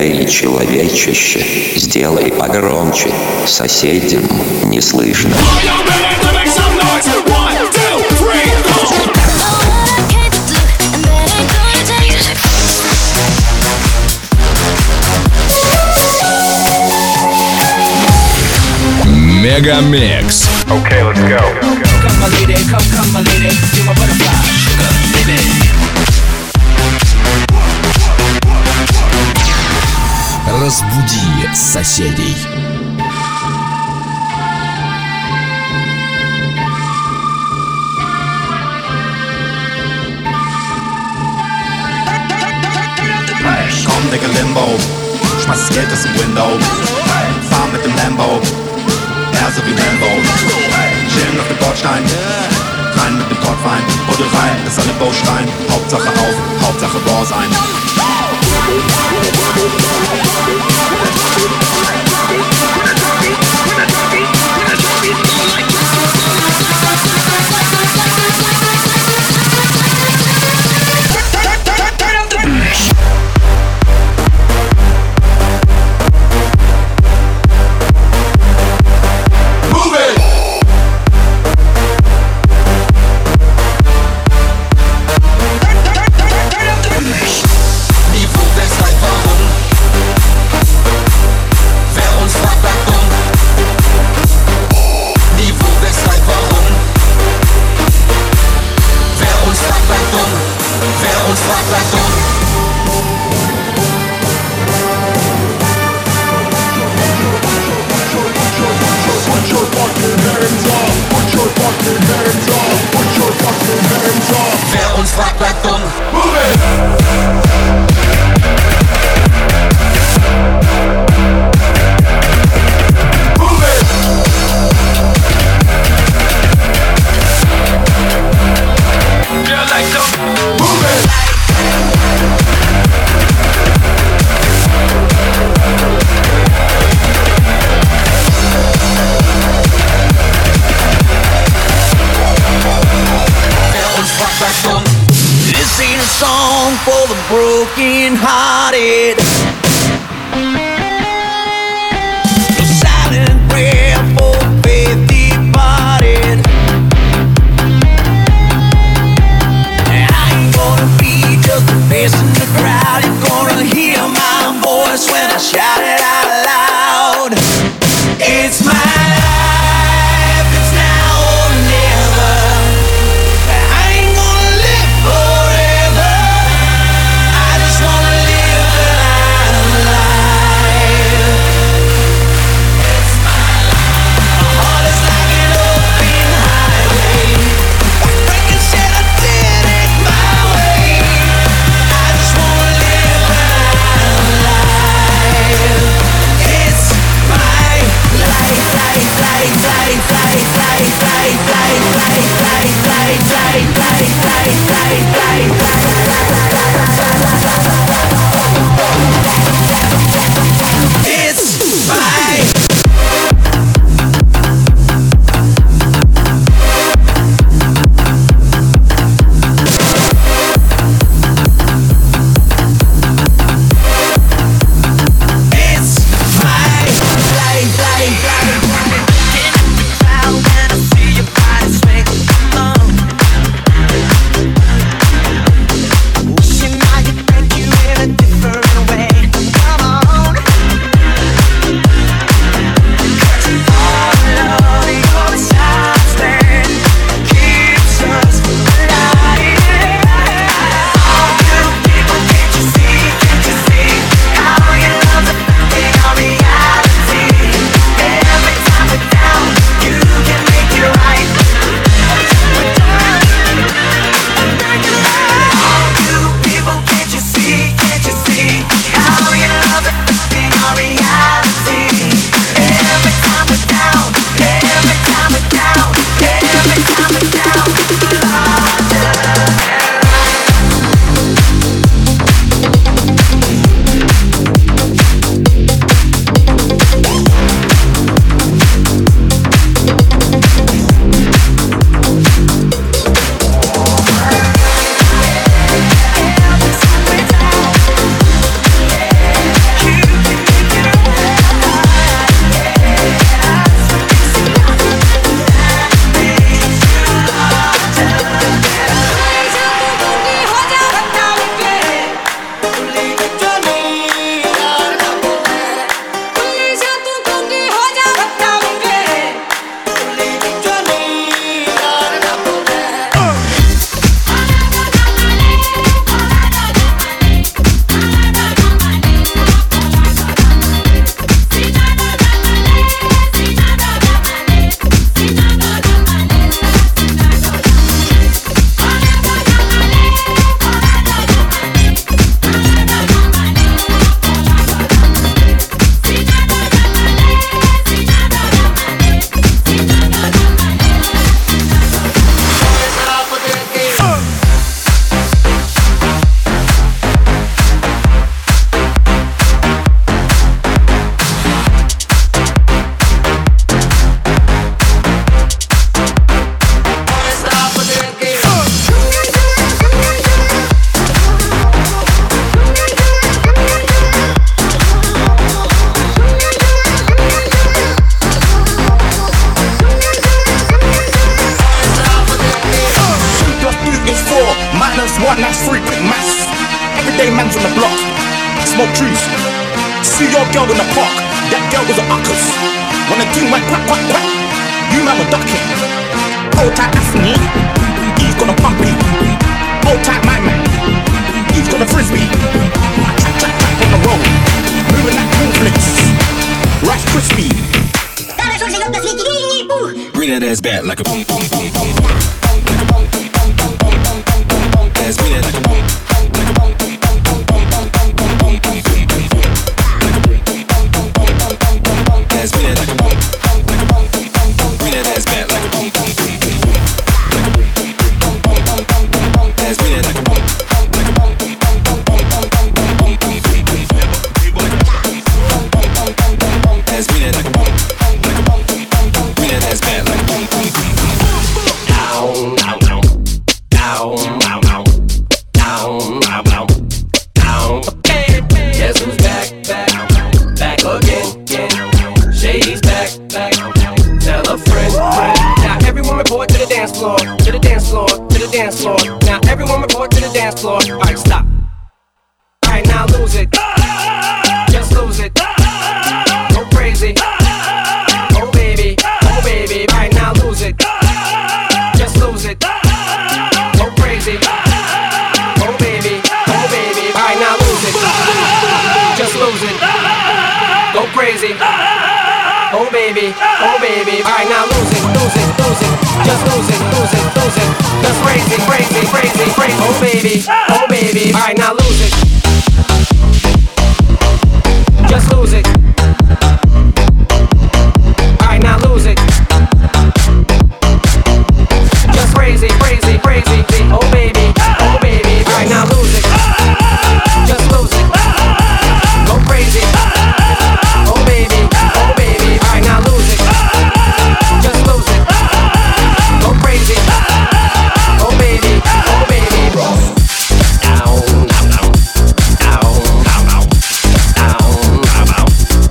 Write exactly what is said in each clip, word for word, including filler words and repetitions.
Эй, человечище, сделай погромче, соседям не слышно. Мегамикс. Okay, let's go. Come my lady, come, come my lady, you're my butterfly, sugar, baby. Разбуди соседей. Komm, Digga, Limbo, schmeiß das Geld aus dem Window, fahr mit dem Lambo, er so wie Rambo, chillen auf dem Bordstein, rein mit dem Portwein, Buddel rein, dass alle Bo schreien, Hauptsache auf, Hauptsache Raw sein. Wer uns fragt, bleibt dumm. This ain't a song for the broken hearted. No silent prayer for faith departed. I ain't gonna be just a face in the crowd. You're gonna hear my voice when I shout it out loud. It's my life, it's now or never. I ain't gonna live forever. I just wanna live when I'm alive. It's my life. My heart is like an open highway. Breaking said I did it my way. I just wanna live when I'm alive. It's palm trees. See your girl in the park, that girl was a uckers. When the thing went quack, quack, quack, you man were ducking. Hold tight, that's me. He's gonna pump me. Hold tight, my man. He's gonna frisbee. Track, track, track on the road. Moving like cornflakes. Rice crispy. Bring that ass back like a boom, boom, boom, boom, boom. Like a boom, boom, boom, boom, boom, boom, boom, boom, boom. Ass bring that like a boom, like a boom, boom, boom, boom, boom, boom, boom, boom, boom, boom, boom, boom, boom. Like a boom, boom, boom, boom, boom, boom, boom, boom, boom. Ass bring that like a boom, like a boom, boom, boom, boom. Bring that ass back like a boom, boom, boom, boom, boom. Like a boom, boom, boom, boom, boom, boom, boom, boom. Ass bring that like a boom, like a boom, boom, boom, boom, boom, boom, boom, boom, boom, boom, boom. Ass bring that like a boom, like a boom, boom, boom, boom. Bring that ass back like a boom, boom, boom, boom. Down, down, down, down, down, down, down, down, down. Guess who's back, back, back again, again. Shady's back, back. Tell a friend, friend. Now everyone report to the dance floor, to the dance floor, to the dance floor. Now everyone report to the dance floor. All right, stop. All right, now lose it. Just lose it. Go crazy. Oh baby, oh baby. All right, now lose it. Just lose it. Go crazy. Oh baby, oh baby. All right, now lose it. Just lose it. Go crazy. Oh baby, oh baby. All right, now lose it, lose it, lose it. Just lose it, lose it, lose it. Just crazy, crazy, crazy, crazy. Oh baby, oh baby. All right, now lose it. Just lose it. All right, now lose it. Just crazy, crazy, crazy. Oh baby, oh baby. All right, now lose it. Just lose it. Go crazy. Oh baby, oh baby. All right, now lose it. Just lose it. Go crazy. Oh baby, oh baby. Down, down, down, down, down, down, down, down.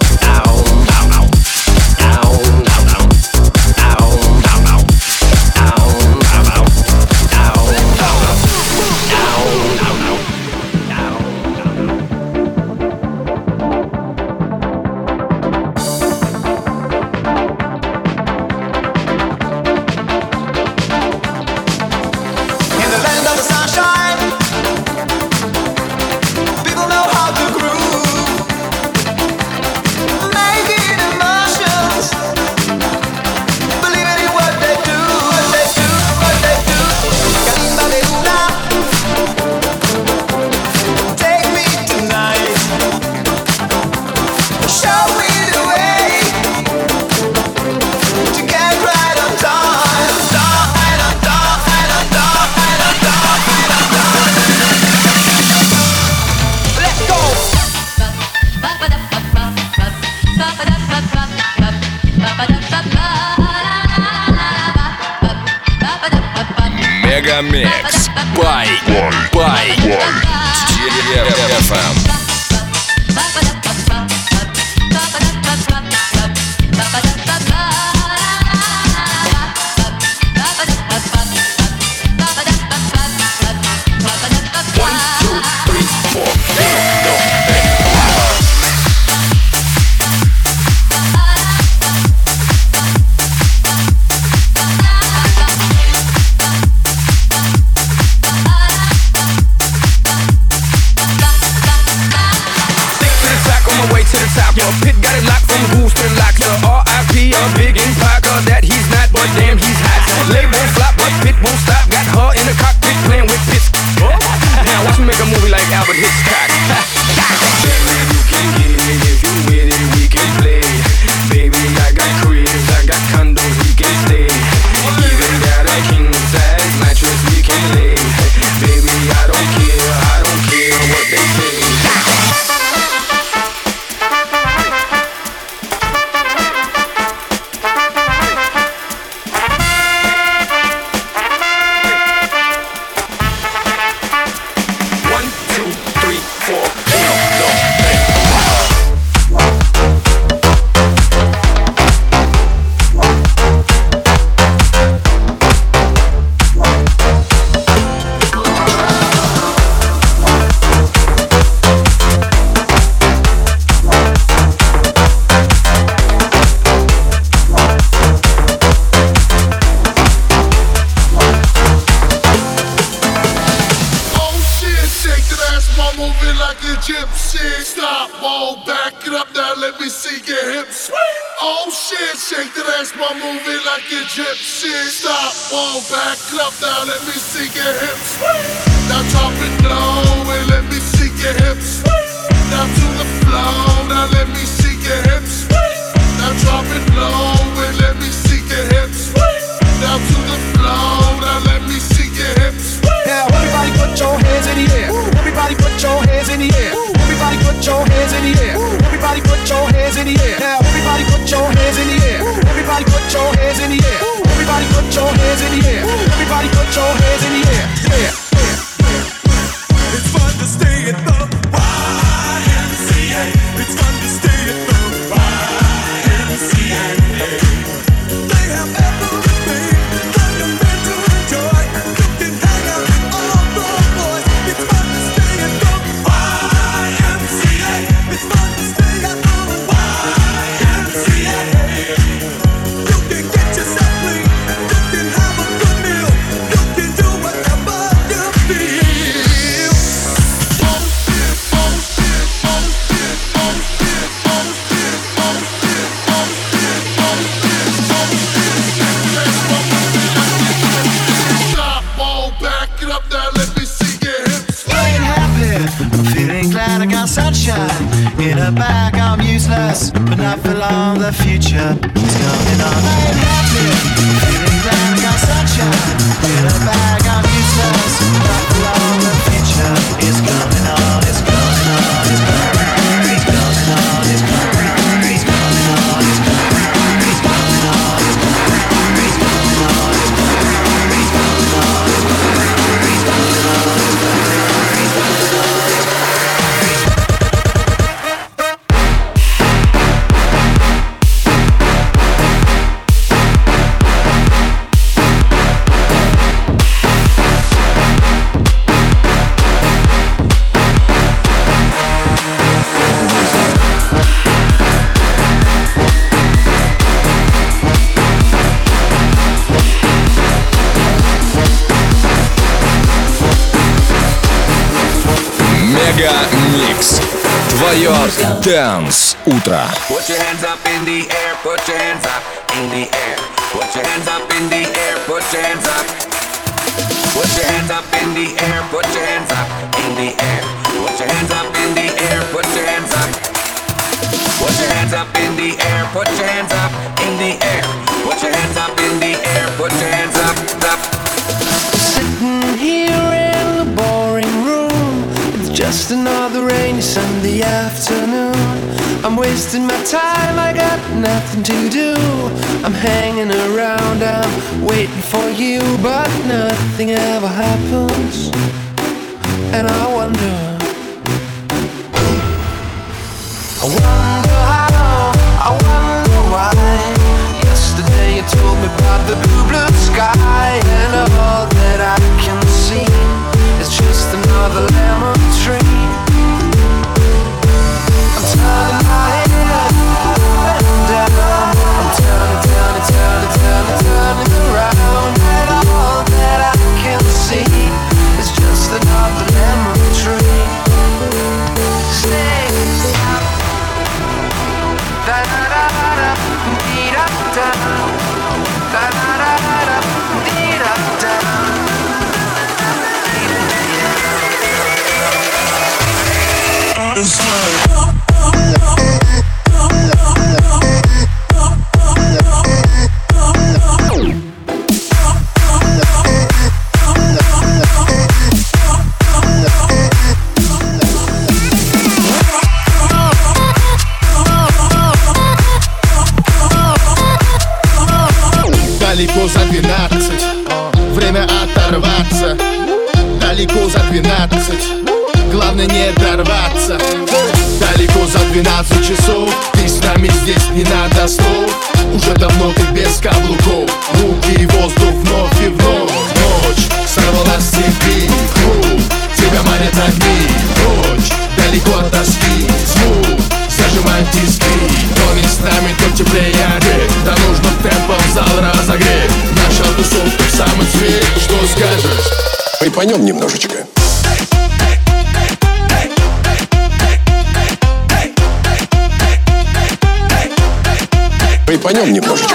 Мегамикс by by эф эм. Yo, Pit got it locked from Goose to Lockyer. R I P a big impact that he's not, but damn he's hot. Label flop, but Pit won't stop. Got her in the cockpit playing with Pits. Now watch me make a movie like Albert Hitchcock. Baby, you can get it if you with it, we can play. Baby, I got cribs, I got condos, we can stay. Even got a king size mattress we can lay. Baby, I don't care, I don't care what they say. One, two, three, four, no, no, hey. it up now, let me see your hips swing. Oh shit, shake that ass, while moving like a gypsy. Stop, whoa, back it up now, let me see your hips swing. Now drop it low and let me see your hips swing. Now to the floor, now let me see your hips swing. Now drop it low and let me see your hips swing. Now to the floor, now let me see your hips swing. Now everybody put your hands in the air. Everybody put your hands in the air. Everybody put your hands in the air. Everybody put your hands in the air. Now everybody put your hands in the air. Everybody put your hands in the air. Everybody put your hands in the air. Everybody put your hands in the air. Yeah. It's fun to stay at the Y M C A. It's fun to stay at the Y M C A. They have everything that you're meant to enjoy. You can hang out with all the boys. It's fun to stay at the Y M C A. It's fun to stay at the Y M C A. You can get yourself clean. You can have a good meal. You can do whatever you feel. Sunshine in the back, I'm useless, but not for long. The future is coming on. I ain't happy, feeling glad I got sunshine in the back, I'm useless, but not for long. The future is coming on. It's coming on. It's coming on. It's coming on. It's coming on. It's coming on. It's coming on. It's coming on. It's coming on. It's coming on. It's coming on. It's coming on. It's coming on. It's coming on. Микс. Твое Dance утро. Put your hands up in the air, put your hands up in the air. Put your hands up in the air, put your hands up. Put your hands up in the air, put your hands up in the air. Put your hands up in the air, put your hands up. Put your hands up in the air, put your hands up in the air. Put your hands up in the air, put your hands up, up. Sitting here in the boring room, it's just another rainy Sunday afternoon. I'm wasting my time, I got nothing to do. I'm hanging around, I'm waiting for you, but nothing ever happens. And I wonder, I wonder how, I wonder why. Yesterday you told me about the blue, blue sky, and all that I can see is just another lemon tree. I'm turning my head up and down. I'm turning, turning, turning, turning, turning around, and all that I can see is just another lemon tree. Stay up. Da da da da, dee da da. Da da da da, dee da da. It's like далеко за двенадцать, время оторваться. Далеко за двенадцать, главное не дорваться. Далеко за двенадцать часов, ты с нами здесь не надо слов. Уже давно ты без каблуков, руки и воздух вновь и вновь. Ночь сорвала с цепи, клуб, тебя манят огни. Ночь далеко от тоски, звук зажимает тиски. То не с нами, то теплее огреть. Да нужно темпом зал разогреть. Наша тусовка в самый цвет. Что скажешь? Припонем немножечко. Кайфанем немножечко.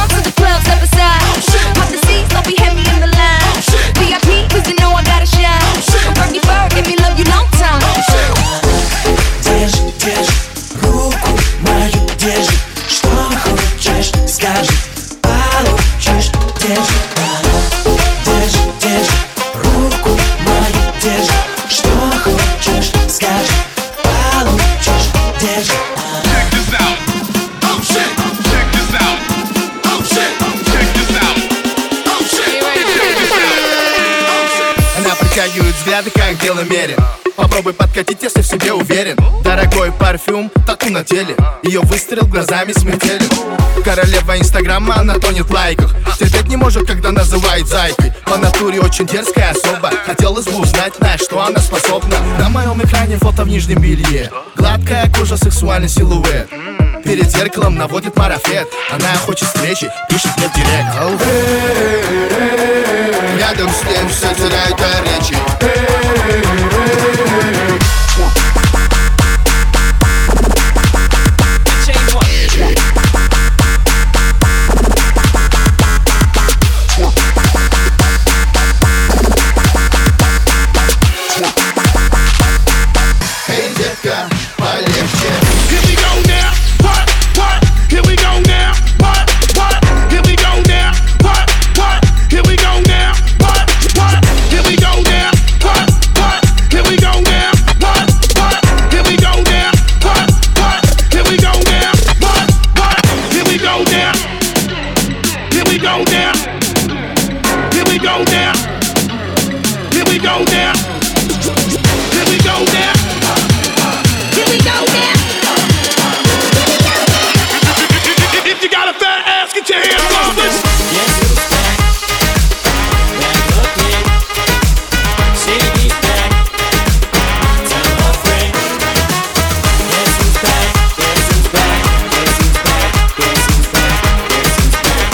Держи, держи, руку мою держи. Что хочешь, скажи, получишь. Держи, держи, держи, руку мою держи. Что хочешь, скажи, получишь. Держи. Check this out. Oh shit. Check this out. Oh shit. Check this out. Oh shit. Check this out. Она притягивает взгляды, как в белом мере. Попробуй подкатить, если в себе уверен. Дорогой парфюм, тату на теле. Ее выстрел глазами смертелен. Королева инстаграма, она тонет в лайках. Терпеть не может, когда называет зайкой. По натуре очень дерзкая особа. Хотелось бы узнать, на что она способна. На моем экране фото в нижнем белье. Гладкая кожа, сексуальный силуэт. Перед зеркалом наводит марафет. Она хочет встречи, пишет мне в директ. Ау. Рядом с ним все теряет речи. Эй, детка, полегче. Here we go now. What? What? Here we go now. What? What? Here we go now. What? What? Here we go now. What? What? Here we go now. What? What? Here we go now. What? What? Here we go now. What? What? Here we go now. What? What? Here we go now. Here we go now. Here we go now. Here we go now. Here we go now. If you got a fat ass, get your hands up. Yes, who's back? Back again. Shady's back. Tell a friend. Yes, who's back? Yes, who's back? Yes, who's back? Yes, who's back? Yes, who's back?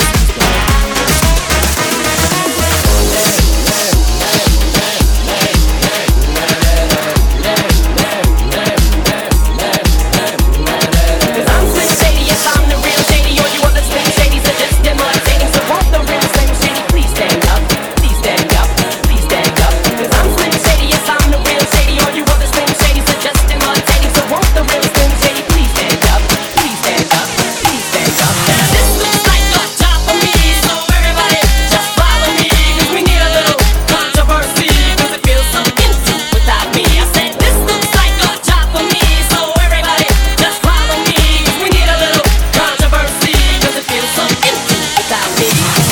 Cause I'm Slim Shady, yes, I'm the real Shady. All you other Slim Shadys are just imitating. So won't the real Slim Shady please stand up? Please stand up, please stand up. Cause I'm Slim Shady, yes, I'm the real Shady. All you other Slim Shadys are just imitating. So won't the real Slim Shady please stand up? Please stand up, please stand up. This looks like a job for me, so everybody just follow me. Cause we need a little controversy, cause it feels so empty without me. I said this looks like a job for me, so everybody just follow me. Cause we need a little controversy, cause it feels so empty without me.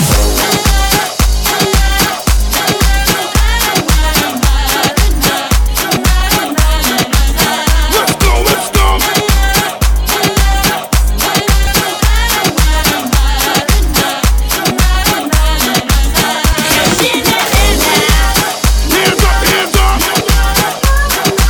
Let's go, let's go. Hands up, hands up.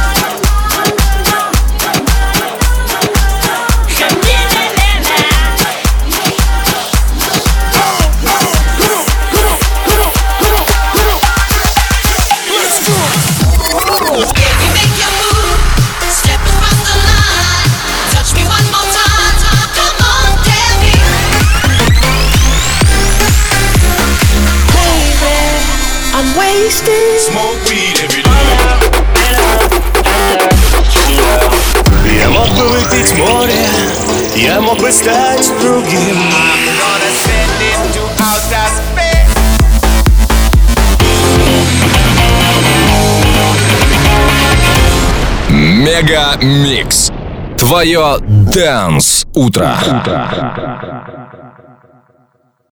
Smoke weed every day. Я мог бы выпить море, я мог бы стать другим. Мега Микс. Твое Dance утро.